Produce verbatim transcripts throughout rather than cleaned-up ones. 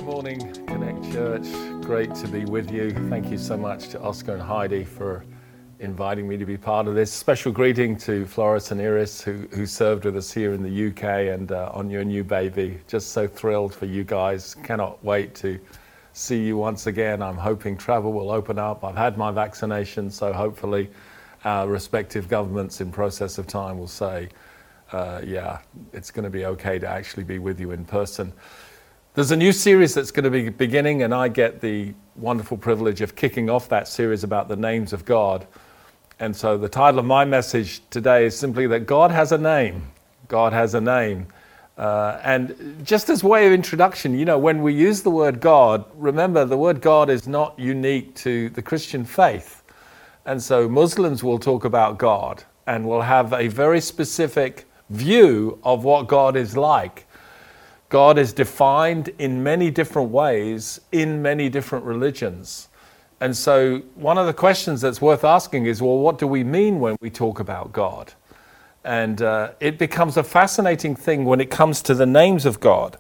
Good morning, Connect Church. Great to be with you. Thank you so much to Oscar and Heidi for inviting me to be part of this. Special greeting to Floris and Iris, who, who served with us here in the U K, and uh, on your new baby. Just so thrilled for you guys. Cannot wait to see you once again. I'm hoping travel will open up. I've had my vaccination, so hopefully our respective governments in process of time will say, uh, yeah, it's going to be okay to actually be with you in person. There's a new series that's going to be beginning, and I get the wonderful privilege of kicking off that series about the names of God. And so the title of my message today is simply that God has a name. God has a name. Uh, and just as way of introduction, you know, when we use the word God, remember the word God is not unique to the Christian faith. And so Muslims will talk about God and will have a very specific view of what God is like. God is defined in many different ways in many different religions. And so one of the questions that's worth asking is, well, what do we mean when we talk about God? And uh, it becomes a fascinating thing when it comes to the names of God.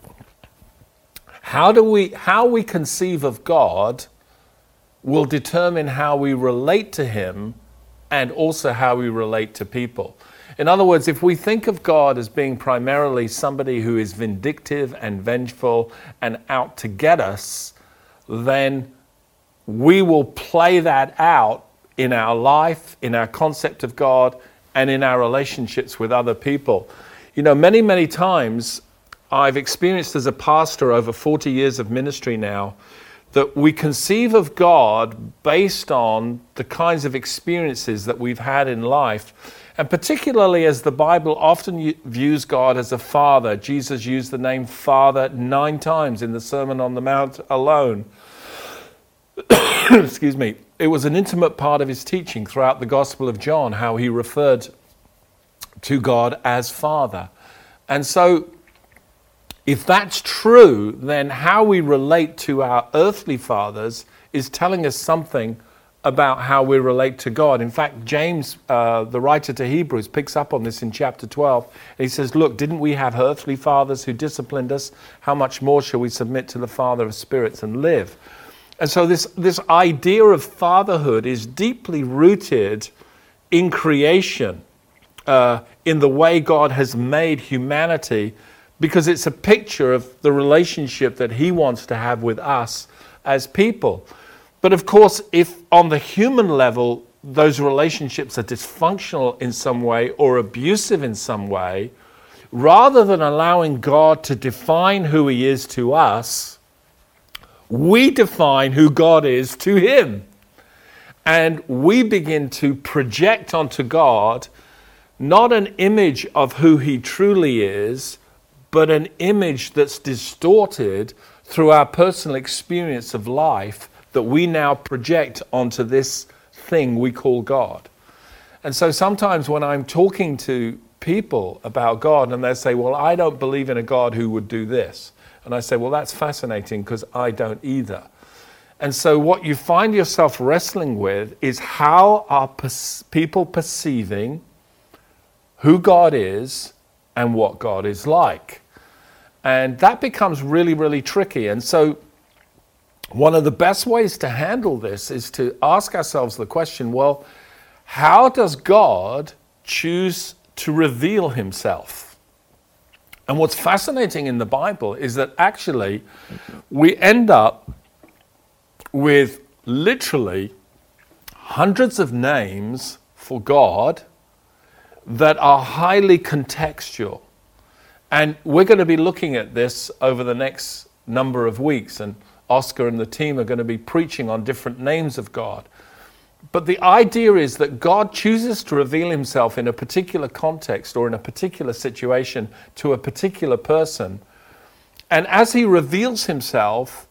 How do we, how we conceive of God will determine how we relate to Him and also how we relate to people. In other words, if we think of God as being primarily somebody who is vindictive and vengeful and out to get us, then we will play that out in our life, in our concept of God, and in our relationships with other people. You know, many, many times I've experienced as a pastor over forty years of ministry now, that we conceive of God based on the kinds of experiences that we've had in life. And particularly as the Bible often views God as a father. Jesus used the name Father nine times in the Sermon on the Mount alone. Excuse me. It was an intimate part of his teaching throughout the Gospel of John, how he referred to God as Father. And so, if that's true, then how we relate to our earthly fathers is telling us something about how we relate to God. In fact, James, uh, the writer to Hebrews, picks up on this in chapter twelve. And he says, look, didn't we have earthly fathers who disciplined us? How much more shall we submit to the Father of spirits and live? And so this, this idea of fatherhood is deeply rooted in creation, uh, in the way God has made humanity, because it's a picture of the relationship that He wants to have with us as people. But of course, if on the human level, those relationships are dysfunctional in some way or abusive in some way, rather than allowing God to define who He is to us, we define who God is to Him. And we begin to project onto God not an image of who He truly is, but an image that's distorted through our personal experience of life that we now project onto this thing we call God. And so sometimes when I'm talking to people about God and they say, well, I don't believe in a God who would do this. And I say, well, that's fascinating because I don't either. And so what you find yourself wrestling with is how are pers- people perceiving who God is and what God is like. And that becomes really, really tricky. And so one of the best ways to handle this is to ask ourselves the question, well, how does God choose to reveal Himself? And what's fascinating in the Bible is that actually we end up with literally hundreds of names for God that are highly contextual. And we're going to be looking at this over the next number of weeks, and Oscar and the team are going to be preaching on different names of God. But the idea is that God chooses to reveal Himself in a particular context or in a particular situation to a particular person. And as He reveals Himself,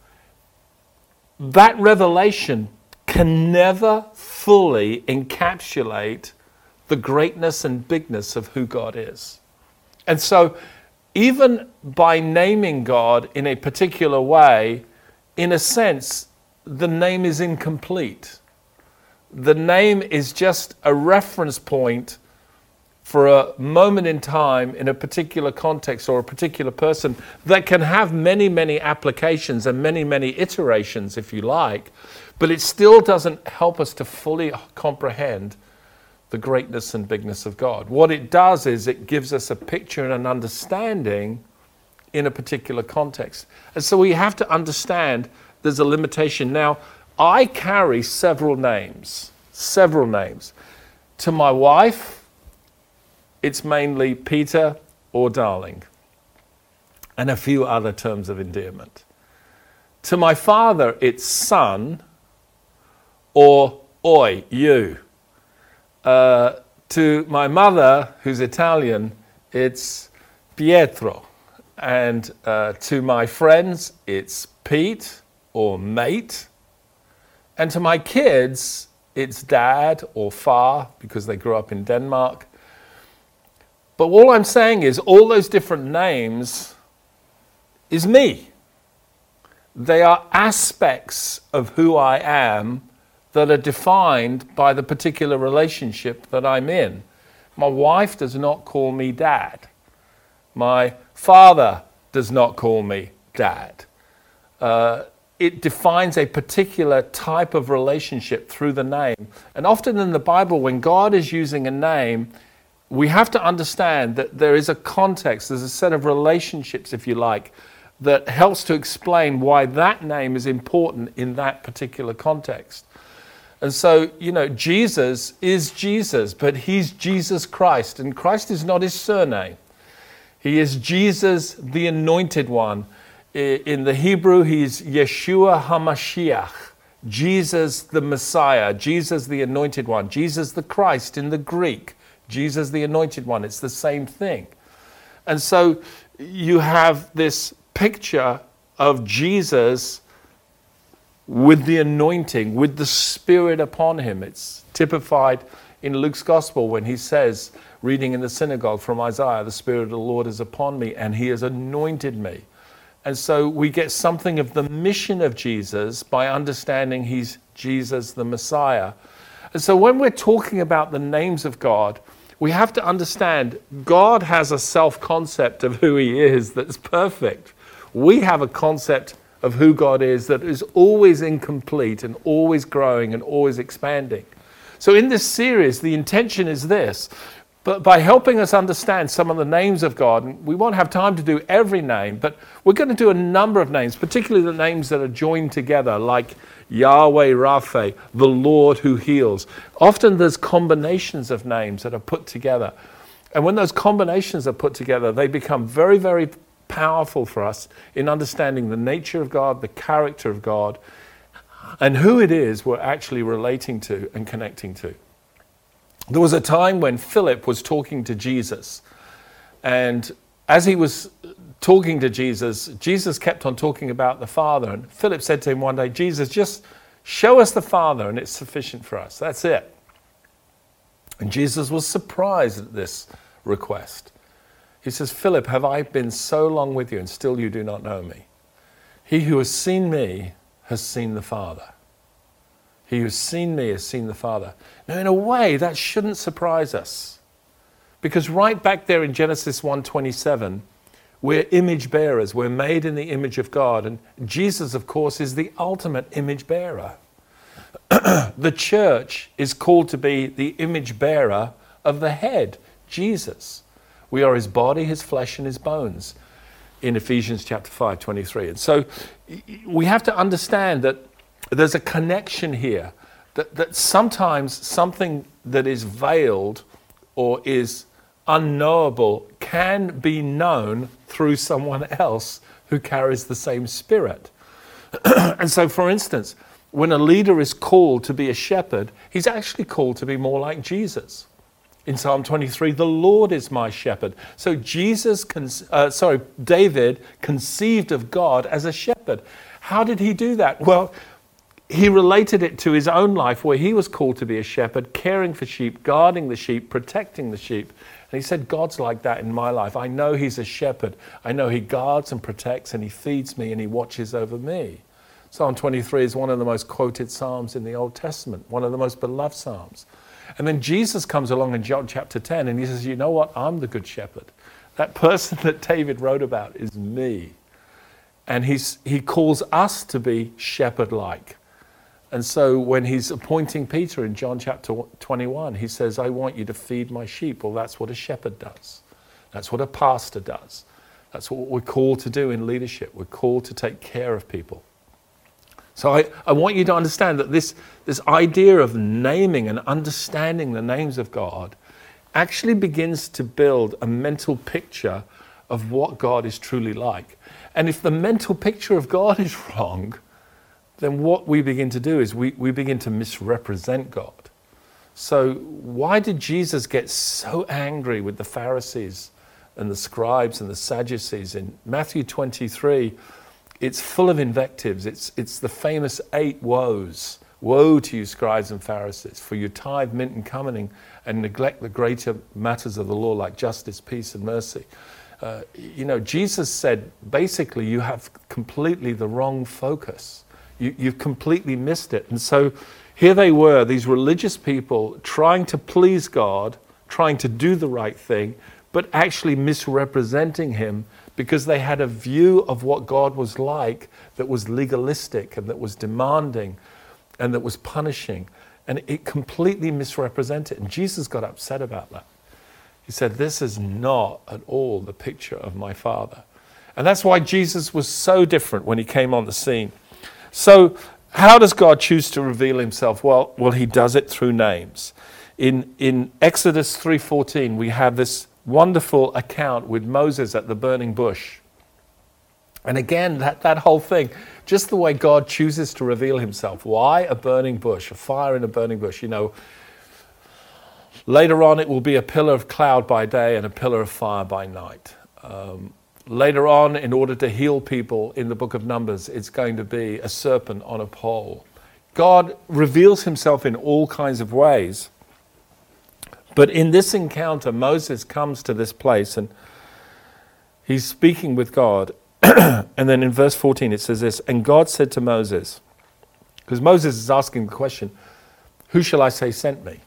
that revelation can never fully encapsulate the greatness and bigness of who God is. And so, even by naming God in a particular way, in a sense, the name is incomplete. The name is just a reference point for a moment in time in a particular context or a particular person that can have many, many applications and many, many iterations, if you like, but it still doesn't help us to fully comprehend the greatness and bigness of God. What it does is it gives us a picture and an understanding in a particular context. And so we have to understand there's a limitation. Now, I carry several names, several names. To my wife, it's mainly Peter or darling, and a few other terms of endearment. To my father, it's son or oi, you. Uh, to my mother, who's Italian, it's Pietro. And uh, to my friends, it's Pete or mate. And to my kids, it's dad or far, because they grew up in Denmark. But all I'm saying is all those different names is me. They are aspects of who I am that are defined by the particular relationship that I'm in. My wife does not call me dad. My father does not call me dad. Uh, it defines a particular type of relationship through the name. And often in the Bible, when God is using a name, we have to understand that there is a context, there's a set of relationships, if you like, that helps to explain why that name is important in that particular context. And so, you know, Jesus is Jesus, but he's Jesus Christ, and Christ is not his surname. He is Jesus, the Anointed One. In the Hebrew, he's Yeshua HaMashiach, Jesus the Messiah, Jesus the Anointed One, Jesus the Christ in the Greek, Jesus the Anointed One. It's the same thing. And so you have this picture of Jesus with the anointing, with the Spirit upon him. It's typified in Luke's Gospel when he says, reading in the synagogue from Isaiah, the Spirit of the Lord is upon me and he has anointed me. And so we get something of the mission of Jesus by understanding he's Jesus the Messiah. And so when we're talking about the names of God, we have to understand God has a self-concept of who he is that's perfect. We have a concept of who God is that is always incomplete and always growing and always expanding. So in this series, the intention is this, but by helping us understand some of the names of God, and we won't have time to do every name, but we're going to do a number of names, particularly the names that are joined together, like Yahweh Rapha, the Lord who heals. Often there's combinations of names that are put together. And when those combinations are put together, they become very, very powerful for us in understanding the nature of God, the character of God, and who it is we're actually relating to and connecting to. There was a time when Philip was talking to Jesus, and as he was talking to Jesus, Jesus kept on talking about the Father, and Philip said to him one day, Jesus, just show us the Father and it's sufficient for us. That's it. And Jesus was surprised at this request. He says, Philip, have I been so long with you and still you do not know me? He who has seen me has seen the Father. He who has seen me has seen the Father. Now, in a way, that shouldn't surprise us. Because right back there in Genesis one twenty-seven, we're image bearers. We're made in the image of God. And Jesus, of course, is the ultimate image bearer. The church is called to be the image bearer of the head, Jesus. We are his body, his flesh, and his bones in Ephesians chapter five, twenty-three. And so we have to understand that there's a connection here, that, that sometimes something that is veiled or is unknowable can be known through someone else who carries the same spirit. And so, for instance, when a leader is called to be a shepherd, he's actually called to be more like Jesus. In Psalm twenty-three, the Lord is my shepherd. So Jesus, con- uh, sorry, David conceived of God as a shepherd. How did he do that? Well, he related it to his own life where he was called to be a shepherd, caring for sheep, guarding the sheep, protecting the sheep. And he said, God's like that in my life. I know he's a shepherd. I know he guards and protects and he feeds me and he watches over me. Psalm twenty-three is one of the most quoted psalms in the Old Testament, one of the most beloved psalms. And then Jesus comes along in John chapter ten and he says, you know what? I'm the good shepherd. That person that David wrote about is me. And he's, he calls us to be shepherd-like. And so when he's appointing Peter in John chapter twenty-one, he says, I want you to feed my sheep. Well, that's what a shepherd does. That's what a pastor does. That's what we're called to do in leadership. We're called to take care of people. So I, I want you to understand that this, this idea of naming and understanding the names of God actually begins to build a mental picture of what God is truly like. And if the mental picture of God is wrong, then what we begin to do is we, we begin to misrepresent God. So why did Jesus get so angry with the Pharisees and the scribes and the Sadducees? In Matthew twenty-three, it's full of invectives. It's, it's the famous eight woes. Woe to you, scribes and Pharisees, for you tithe mint and cumin and neglect the greater matters of the law like justice, peace, and mercy. Uh, you know, Jesus said, basically, you have completely the wrong focus. You, you've completely missed it. And so here they were, these religious people trying to please God, trying to do the right thing, but actually misrepresenting him because they had a view of what God was like that was legalistic and that was demanding and that was punishing. And it completely misrepresented. And Jesus got upset about that. He said, this is not at all the picture of my Father. And that's why Jesus was so different when he came on the scene. So how does God choose to reveal himself? Well, well, he does it through names. In, in Exodus three fourteen, we have this wonderful account with Moses at the burning bush. And again, that, that whole thing, just the way God chooses to reveal himself. Why a burning bush, a fire in a burning bush? You know, later on it will be a pillar of cloud by day and a pillar of fire by night. Um, later on, in order to heal people in the book of Numbers, it's going to be a serpent on a pole. God reveals himself in all kinds of ways. But in this encounter, Moses comes to this place and he's speaking with God. And then in verse fourteen it says this, and God said to Moses, because Moses is asking the question, who shall I say sent me?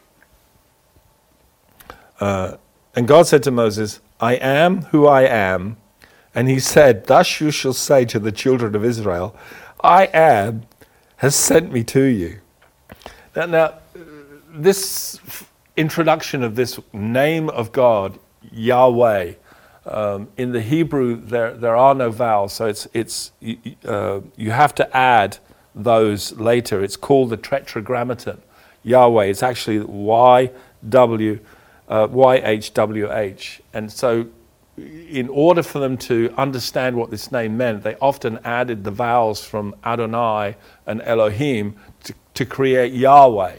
Uh, and God said to Moses, I am who I am. And he said, thus you shall say to the children of Israel, I am has sent me to you. Now, now this introduction of this name of God, Yahweh, um, in the Hebrew there there are no vowels, so it's it's uh, you have to add those later. It's called the Tetragrammaton, Yahweh. It's actually Y W uh, Y H W H, and so in order for them to understand what this name meant, they often added the vowels from Adonai and Elohim to, to create Yahweh.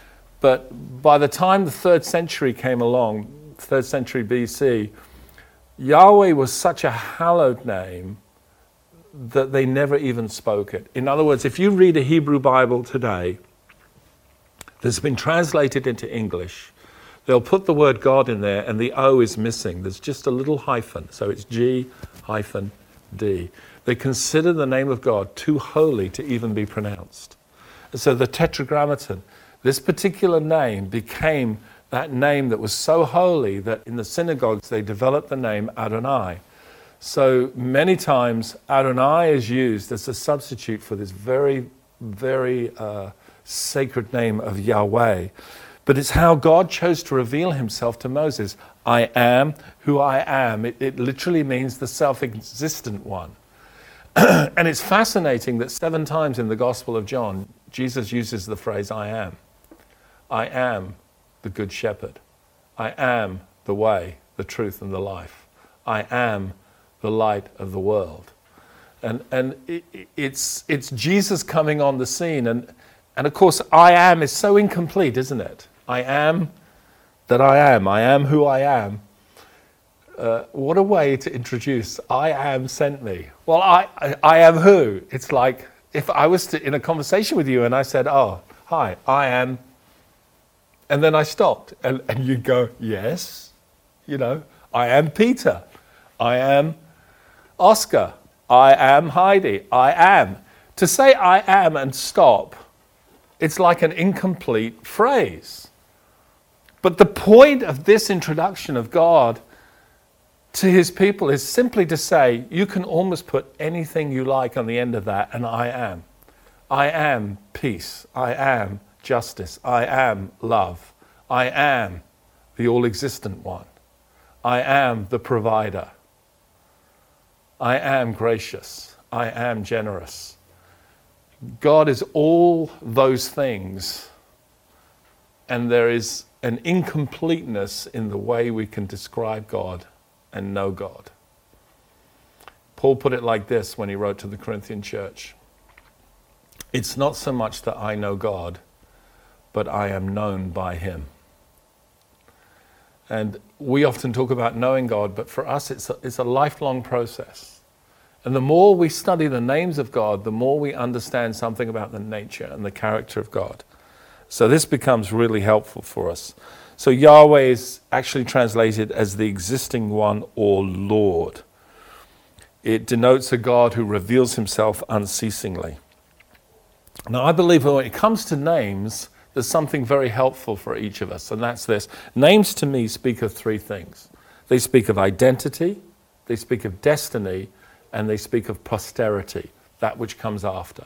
But by the time the third century came along, third century B C, Yahweh was such a hallowed name that they never even spoke it. In other words, if you read a Hebrew Bible today that's been translated into English, they'll put the word God in there and the O is missing. There's just a little hyphen, so it's G hyphen D. They consider the name of God too holy to even be pronounced. And so the Tetragrammaton, this particular name became that name that was so holy that in the synagogues they developed the name Adonai. So many times Adonai is used as a substitute for this very, very uh, sacred name of Yahweh. But it's how God chose to reveal himself to Moses. I am who I am. It, it literally means the self-existent one. And it's fascinating that seven times in the Gospel of John, Jesus uses the phrase, I am. I am the Good Shepherd. I am the way, the truth, and the life. I am the light of the world. And and it, it's it's Jesus coming on the scene. And, and of course, I am is so incomplete, isn't it? I am that I am. I am who I am. Uh, what a way to introduce, I am sent me. Well, I, I, I am who? It's like if I was to, in a conversation with you and I said, oh, hi, I am, and then I stopped, and, and you'd go, yes, you know, I am Peter, I am Oscar, I am Heidi, I am. To say I am and stop, it's like an incomplete phrase. But the point of this introduction of God to his people is simply to say, you can almost put anything you like on the end of that, and I am. I am peace. I am justice. I am love. I am the all-existent one. I am the provider. I am gracious. I am generous. God is all those things, and there is an incompleteness in the way we can describe God and know God. Paul put it like this when he wrote to the Corinthian church. It's not so much that I know God, but I am known by him. And we often talk about knowing God, but for us it's a, it's a lifelong process. And the more we study the names of God, the more we understand something about the nature and the character of God. So this becomes really helpful for us. So Yahweh is actually translated as the existing one or Lord. It denotes a God who reveals himself unceasingly. Now I believe when it comes to names, there's something very helpful for each of us, and that's this. Names to me speak of three things. They speak of identity, they speak of destiny, and they speak of posterity, that which comes after.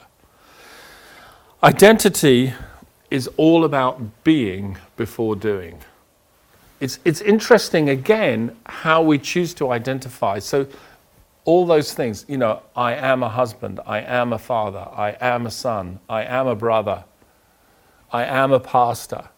Identity is all about being before doing. It's, it's interesting, again, how we choose to identify. So all those things, you know, I am a husband, I am a father, I am a son, I am a brother, I am a pastor.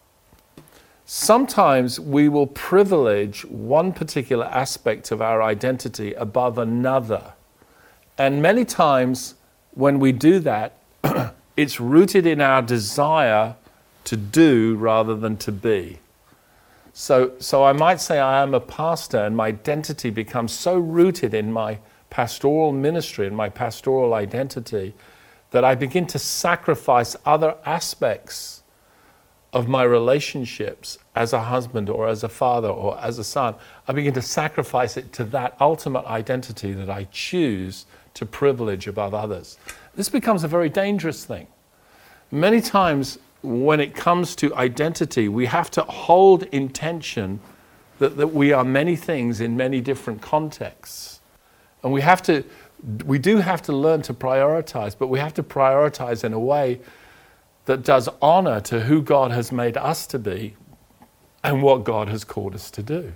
Sometimes we will privilege one particular aspect of our identity above another. And many times when we do that, it's rooted in our desire to do rather than to be. So, so I might say I am a pastor, and my identity becomes so rooted in my pastoral ministry and my pastoral identity that I begin to sacrifice other aspects of my relationships as a husband or as a father or as a son. I begin to sacrifice it to that ultimate identity that I choose to privilege above others. This becomes a very dangerous thing. Many times when it comes to identity, we have to hold in tension that, that we are many things in many different contexts. And we have to, we do have to learn to prioritize, but we have to prioritize in a way that does honor to who God has made us to be and what God has called us to do.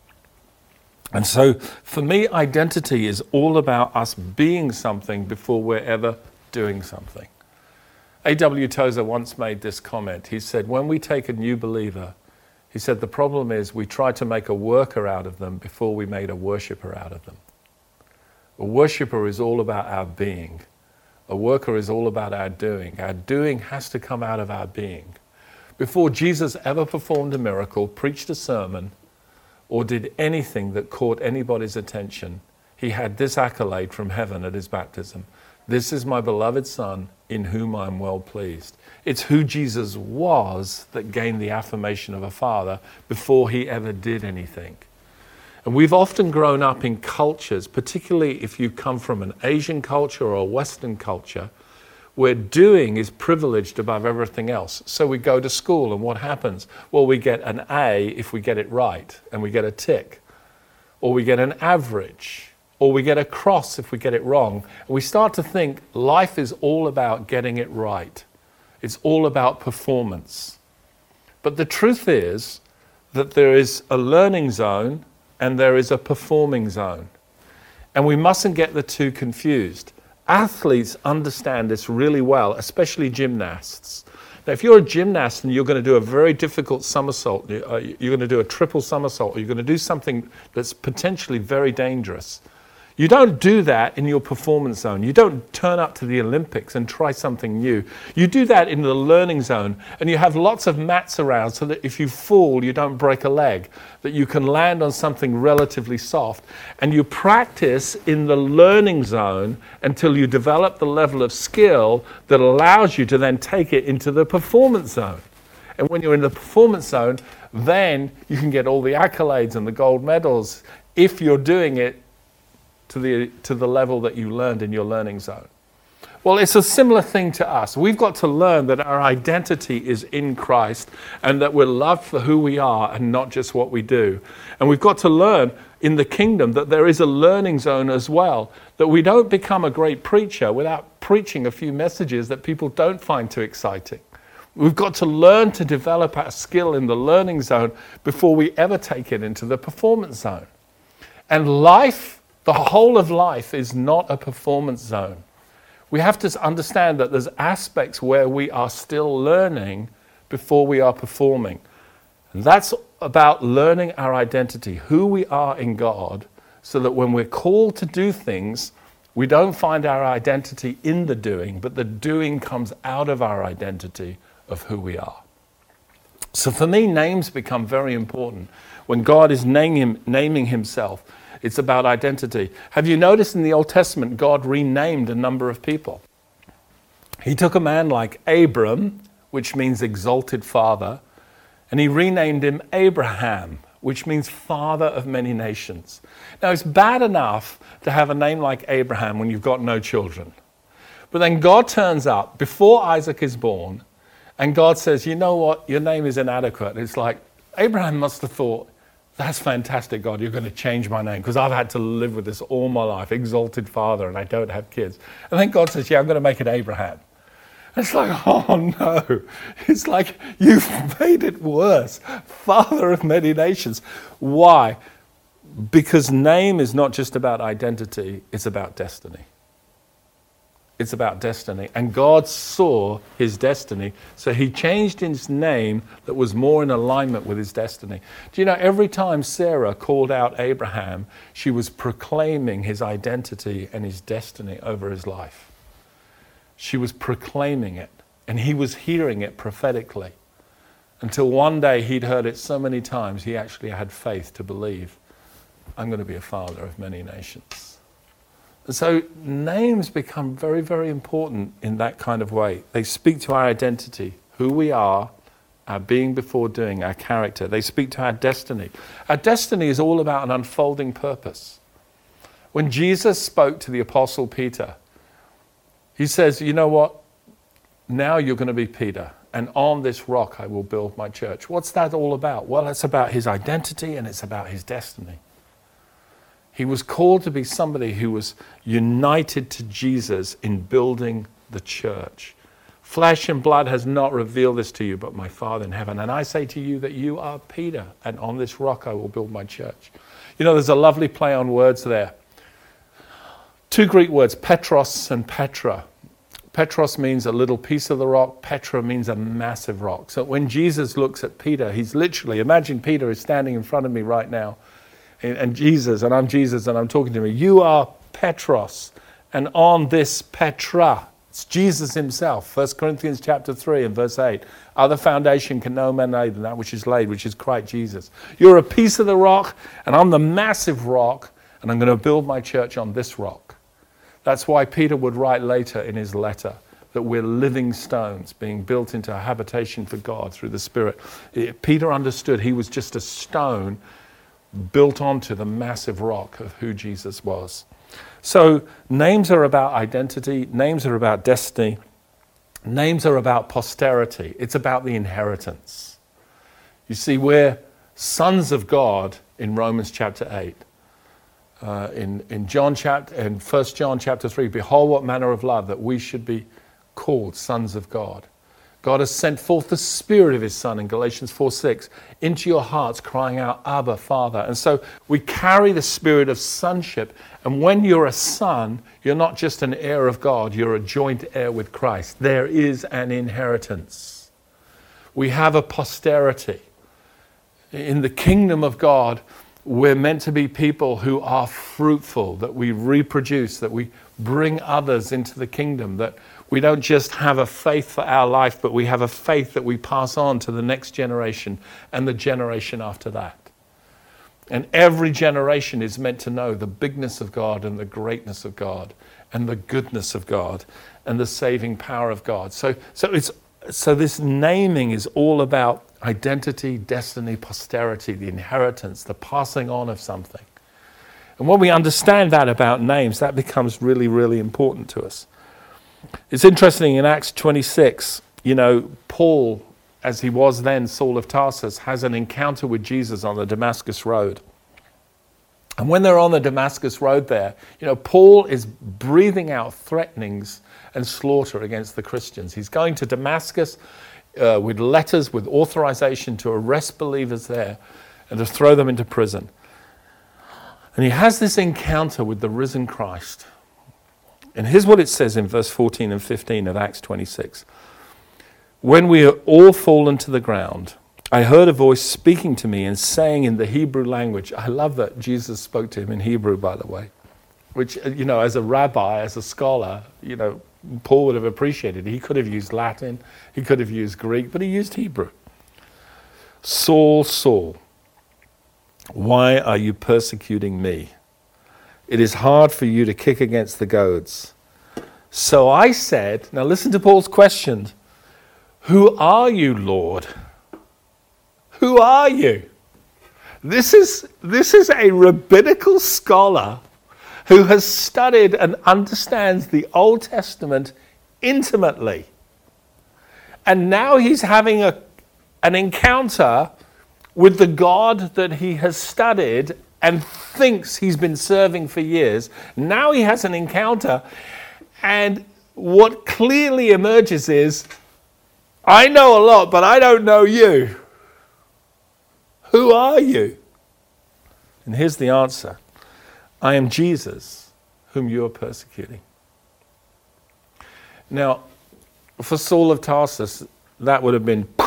And so for me, identity is all about us being something before we're ever doing something. A W Tozer once made this comment. He said, when we take a new believer, he said, the problem is we try to make a worker out of them before we made a worshiper out of them. A worshiper is all about our being. A worker is all about our doing. Our doing has to come out of our being. Before Jesus ever performed a miracle, preached a sermon, or did anything that caught anybody's attention, he had this accolade from heaven at his baptism. This is my beloved Son, in whom I am well pleased. It's who Jesus was that gained the affirmation of a father before he ever did anything. And we've often grown up in cultures, particularly if you come from an Asian culture or a Western culture, where doing is privileged above everything else. So we go to school, and what happens? Well, we get an A if we get it right, and we get a tick. Or we get an average. Or we get a cross if we get it wrong. And we start to think life is all about getting it right. It's all about performance. But the truth is that there is a learning zone and there is a performing zone. And we mustn't get the two confused. Athletes understand this really well, especially gymnasts. Now, if you're a gymnast and you're going to do a very difficult somersault, you're going to do a triple somersault, or you're going to do something that's potentially very dangerous, you don't do that in your performance zone. You don't turn up to the Olympics and try something new. You do that in the learning zone, and you have lots of mats around so that if you fall, you don't break a leg, that you can land on something relatively soft. And you practice in the learning zone until you develop the level of skill that allows you to then take it into the performance zone. And when you're in the performance zone, then you can get all the accolades and the gold medals if you're doing it to the to the level that you learned in your learning zone. Well, it's a similar thing to us. We've got to learn that our identity is in Christ and that we're loved for who we are and not just what we do. And we've got to learn in the kingdom that there is a learning zone as well, that we don't become a great preacher without preaching a few messages that people don't find too exciting. We've got to learn to develop our skill in the learning zone before we ever take it into the performance zone. And life, the whole of life, is not a performance zone. We have to understand that there's aspects where we are still learning before we are performing. And that's about learning our identity, who we are in God, so that when we're called to do things, we don't find our identity in the doing, but the doing comes out of our identity of who we are. So for me, names become very important. When God is naming, naming himself, it's about identity. Have you noticed in the Old Testament, God renamed a number of people? He took a man like Abram, which means exalted father, and he renamed him Abraham, which means father of many nations. Now, it's bad enough to have a name like Abraham when you've got no children. But then God turns up before Isaac is born, and God says, you know what, your name is inadequate. It's like, Abraham must have thought, that's fantastic, God, you're going to change my name, because I've had to live with this all my life, exalted father, and I don't have kids. And then God says, yeah, I'm going to make it Abraham. It's like, oh no. It's like, you've made it worse. Father of many nations. Why? Because name is not just about identity, it's about destiny. It's about destiny. And God saw his destiny, so he changed his name that was more in alignment with his destiny. Do you know, every time Sarah called out Abraham, she was proclaiming his identity and his destiny over his life. She was proclaiming it, and he was hearing it prophetically. Until one day he'd heard it so many times, he actually had faith to believe, I'm going to be a father of many nations. So names become very, very important in that kind of way. They speak to our identity, who we are, our being before doing, our character. They speak to our destiny. Our destiny is all about an unfolding purpose. When Jesus spoke to the Apostle Peter, he says, you know what? Now you're going to be Peter, and on this rock I will build my church. What's that all about? Well, it's about his identity and it's about his destiny. He was called to be somebody who was united to Jesus in building the church. Flesh and blood has not revealed this to you, but my Father in heaven. And I say to you that you are Peter, and on this rock I will build my church. You know, there's a lovely play on words there. Two Greek words, Petros and Petra. Petros means a little piece of the rock. Petra means a massive rock. So when Jesus looks at Peter, he's literally, imagine Peter is standing in front of me right now, and Jesus, and I'm Jesus, and I'm talking to him. You are Petros, and on this Petra, it's Jesus himself. First Corinthians chapter three and verse eight. Other foundation can no man lay than that which is laid, which is Christ Jesus. You're a piece of the rock, and I'm the massive rock, and I'm going to build my church on this rock. That's why Peter would write later in his letter that we're living stones being built into a habitation for God through the Spirit. Peter understood he was just a stone built onto the massive rock of who Jesus was. So names are about identity, names are about destiny, names are about posterity. It's about the inheritance. You see, we're sons of God in Romans chapter eight. Uh, in, in John chapter, in First John chapter three, behold what manner of love that we should be called sons of God. God has sent forth the Spirit of his Son in Galatians four six into your hearts, crying out, Abba, Father. And so we carry the spirit of sonship. And when you're a son, you're not just an heir of God, you're a joint heir with Christ. There is an inheritance. We have a posterity. In the kingdom of God, we're meant to be people who are fruitful, that we reproduce, that we bring others into the kingdom, that we don't just have a faith for our life, but we have a faith that we pass on to the next generation and the generation after that. And every generation is meant to know the bigness of God and the greatness of God and the goodness of God and the saving power of God. So, so it's so this naming is all about identity, destiny, posterity, the inheritance, the passing on of something. And when we understand that about names, that becomes really, really important to us. It's interesting in Acts twenty-six, you know, Paul, as he was then Saul of Tarsus, has an encounter with Jesus on the Damascus Road. And when they're on the Damascus Road there, you know, Paul is breathing out threatenings and slaughter against the Christians. He's going to Damascus uh, with letters, with authorization to arrest believers there and to throw them into prison. And he has this encounter with the risen Christ. And here's what it says in verse fourteen and fifteen of Acts twenty-six. When we are all fallen to the ground, I heard a voice speaking to me and saying in the Hebrew language. I love that Jesus spoke to him in Hebrew, by the way, which, you know, as a rabbi, as a scholar, you know, Paul would have appreciated. He could have used Latin, he could have used Greek, but he used Hebrew. Saul, Saul, why are you persecuting me? It is hard for you to kick against the goads. So I said, now listen to Paul's question. Who are you, Lord? Who are you? This is, this is a rabbinical scholar who has studied and understands the Old Testament intimately. And now he's having a, an encounter with the God that he has studied and thinks he's been serving for years. Now he has an encounter, and what clearly emerges is, I know a lot, but I don't know you. Who are you? And here's the answer. I am Jesus, whom you are persecuting. Now, for Saul of Tarsus, that would have been,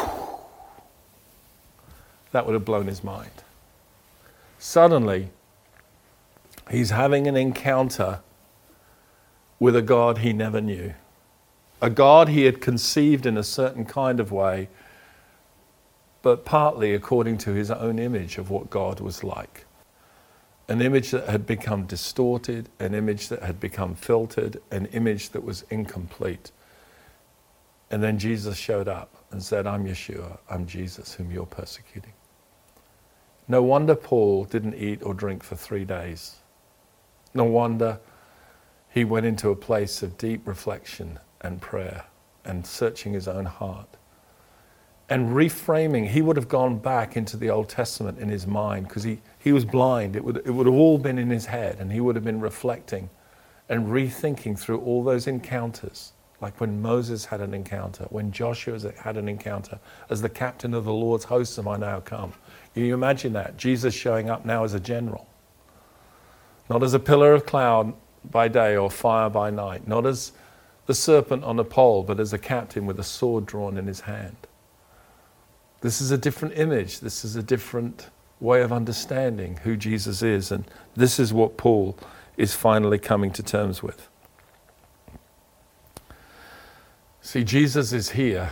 that would have blown his mind. Suddenly, he's having an encounter with a God he never knew. A God he had conceived in a certain kind of way, but partly according to his own image of what God was like. An image that had become distorted, an image that had become filtered, an image that was incomplete. And then Jesus showed up and said, I'm Yeshua, I'm Jesus, whom you're persecuting. No wonder Paul didn't eat or drink for three days. No wonder he went into a place of deep reflection and prayer and searching his own heart. And reframing, he would have gone back into the Old Testament in his mind because he, he was blind. It would, it would have all been in his head, and he would have been reflecting and rethinking through all those encounters, like when Moses had an encounter, when Joshua had an encounter, as the captain of the Lord's hosts am I now come. Can you imagine that? Jesus showing up now as a general. Not as a pillar of cloud by day or fire by night. Not as the serpent on a pole, but as a captain with a sword drawn in his hand. This is a different image. This is a different way of understanding who Jesus is. And this is what Paul is finally coming to terms with. See, Jesus is here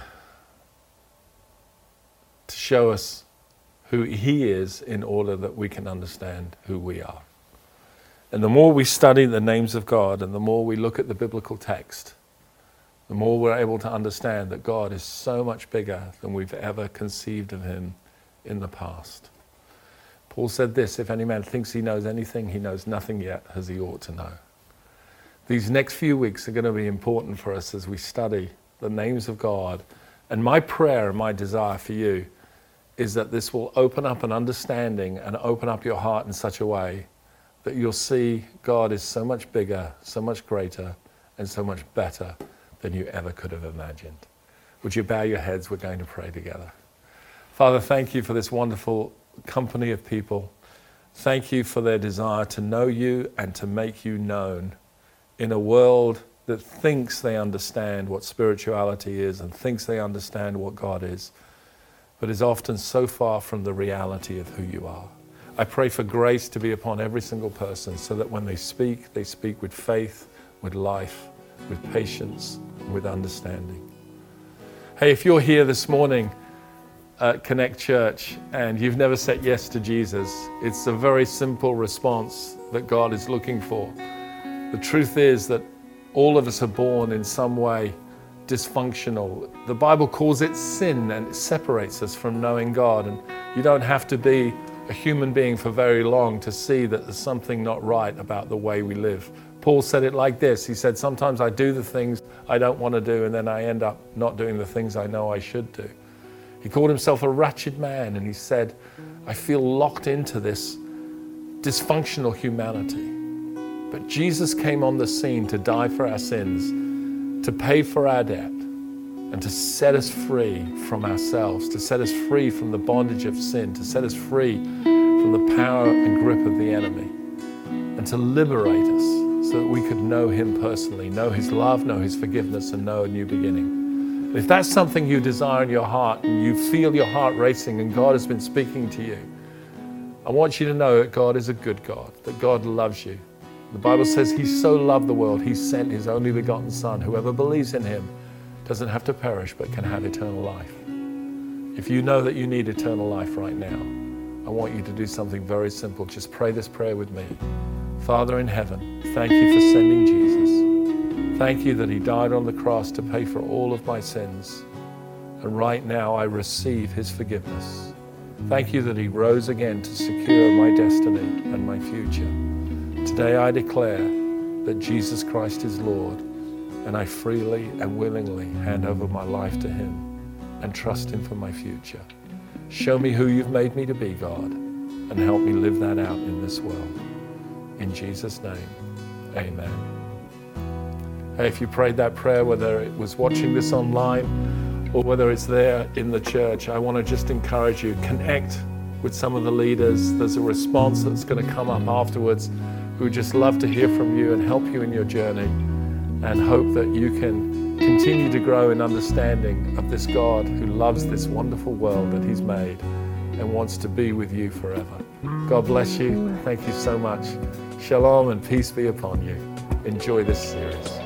to show us who he is in order that we can understand who we are. And the more we study the names of God and the more we look at the biblical text, the more we're able to understand that God is so much bigger than we've ever conceived of him in the past. Paul said this, if any man thinks he knows anything, he knows nothing yet as he ought to know. These next few weeks are going to be important for us as we study the names of God. And my prayer and my desire for you is that this will open up an understanding and open up your heart in such a way that you'll see God is so much bigger, so much greater, and so much better than you ever could have imagined. Would you bow your heads? We're going to pray together. Father, thank you for this wonderful company of people. Thank you for their desire to know you and to make you known in a world that thinks they understand what spirituality is and thinks they understand what God is, but is often so far from the reality of who you are. I pray for grace to be upon every single person so that when they speak, they speak with faith, with life, with patience, with understanding. Hey, if you're here this morning at Connect Church and you've never said yes to Jesus, it's a very simple response that God is looking for. The truth is that all of us are born in some way dysfunctional. The Bible calls it sin, and it separates us from knowing God. And you don't have to be a human being for very long to see that there's something not right about the way we live. Paul said it like this. He said, sometimes I do the things I don't want to do, and then I end up not doing the things I know I should do. He called himself a wretched man, and he said, I feel locked into this dysfunctional humanity. But Jesus came on the scene to die for our sins, to pay for our debt, and to set us free from ourselves, to set us free from the bondage of sin, to set us free from the power and grip of the enemy, and to liberate us so that we could know him personally, know his love, know his forgiveness, and know a new beginning. And if that's something you desire in your heart, and you feel your heart racing and God has been speaking to you, I want you to know that God is a good God, that God loves you. The Bible says he so loved the world, he sent his only begotten Son. Whoever believes in him doesn't have to perish, but can have eternal life. If you know that you need eternal life right now, I want you to do something very simple. Just pray this prayer with me. Father in heaven, thank you for sending Jesus. Thank you that he died on the cross to pay for all of my sins. And right now I receive his forgiveness. Thank you that he rose again to secure my destiny and my future. Today I declare that Jesus Christ is Lord, and I freely and willingly hand over my life to him and trust him for my future. Show me who you've made me to be, God, and help me live that out in this world. In Jesus' name, amen. Hey, if you prayed that prayer, whether it was watching this online or whether it's there in the church, I want to just encourage you, connect with some of the leaders. There's a response that's going to come up afterwards. We would just love to hear from you and help you in your journey, and hope that you can continue to grow in understanding of this God who loves this wonderful world that he's made and wants to be with you forever. God bless you. Thank you so much. Shalom and peace be upon you. Enjoy this series.